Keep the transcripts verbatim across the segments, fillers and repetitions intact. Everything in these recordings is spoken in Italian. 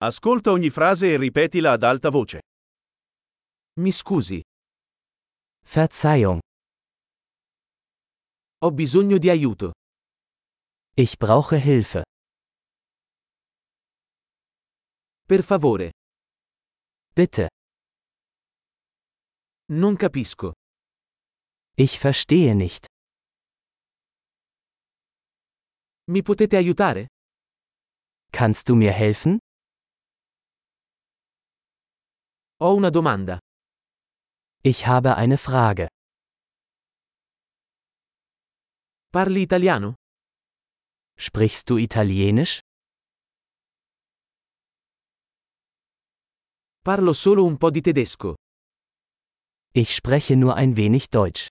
Ascolta ogni frase e ripetila ad alta voce. Mi scusi, Verzeihung, ho bisogno di aiuto. ich brauche Hilfe. Per favore, Bitte, non capisco. ich verstehe nicht. Mi potete aiutare? Kannst du mir helfen? Ho una domanda. Ich habe eine Frage. Parli italiano? Sprichst du Italienisch? Parlo solo un po' di tedesco. Ich spreche nur ein wenig Deutsch.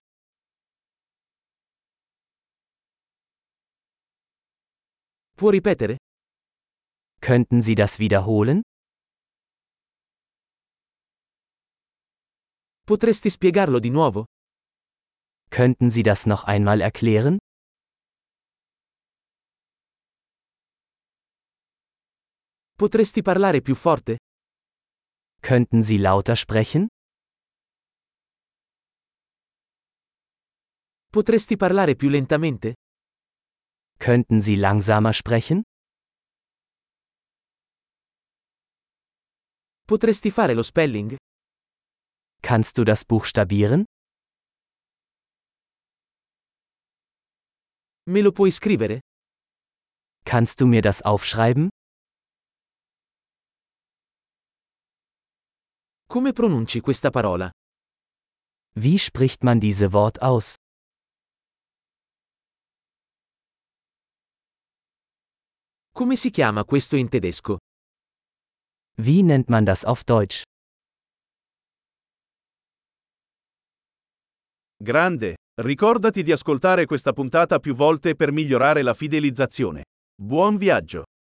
Può ripetere? Könnten Sie das wiederholen? Potresti spiegarlo di nuovo? Könnten Sie das noch einmal erklären? Potresti parlare più forte? Könnten Sie lauter sprechen? Potresti parlare più lentamente? Könnten Sie langsamer sprechen? Potresti fare lo spelling? Kannst du das buchstabieren? Me lo puoi scrivere? Kannst du mir das aufschreiben? Come pronunci questa parola? Wie spricht man diese Wort aus? Come si chiama questo in tedesco? Wie nennt man das auf Deutsch? Grande! Ricordati di ascoltare questa puntata più volte per migliorare la fidelizzazione. Buon viaggio!